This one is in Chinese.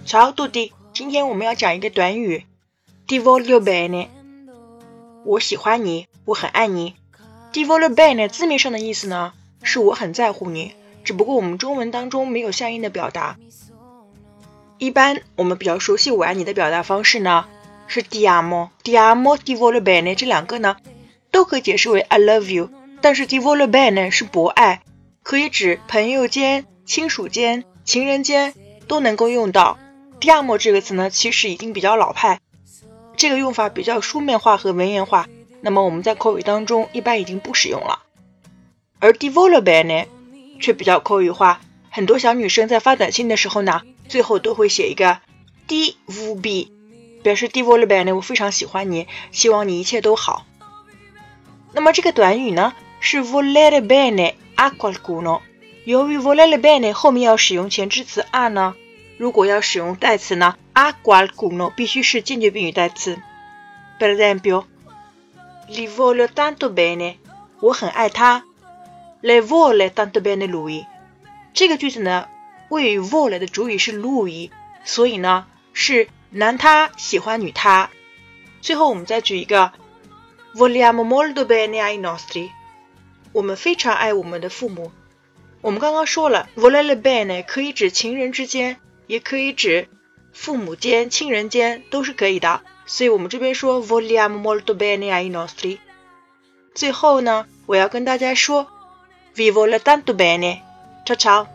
Ciao a tutti， 今天我们要讲一个短语 Ti voglio bene， 我喜欢你，我很爱你。Ti voglio bene 字面上的意思呢，是我很在乎你，只不过我们中文当中没有相应的表达。一般我们比较熟悉我爱你的表达方式呢，是 Ti amo，Ti amo，Ti voglio bene 这两个呢，都可以解释为 I love you， 但是 Ti voglio bene 是博爱，可以指朋友间、亲属间、情人间都能够用到。Ti amo 这个词呢，其实已经比较老派，这个用法比较书面化和文言化，那么我们在口语当中一般已经不使用了。而 Ti voglio bene 却比较口语化，很多小女生在发短信的时候呢，最后都会写一个 DVB， 表示 Ti voglio bene 我非常喜欢你，希望你一切都好。那么这个短语呢，是 volere bene a qualcuno， 由于 volere bene 后面要使用前置词 a 呢，如果要使用代词呢 a qualcuno 必须是间接宾语代词。Per esempio Li voglio tanto bene， 我很爱他。Le vuole tanto bene lui， 这个句子呢，谓语 vuole 的主语是 lui， 所以呢是男他喜欢女他。最后我们再举一个 Vogliamo molto bene ai nostri， 我们非常爱我们的父母。我们刚刚说了 volere bene 可以指情人之间，也可以指父母间、亲人间，都是可以的，所以我们这边说 Vogliamo molto bene ai nostri。 最后呢，我要跟大家说 Vi voglio tanto bene， ciao ciao。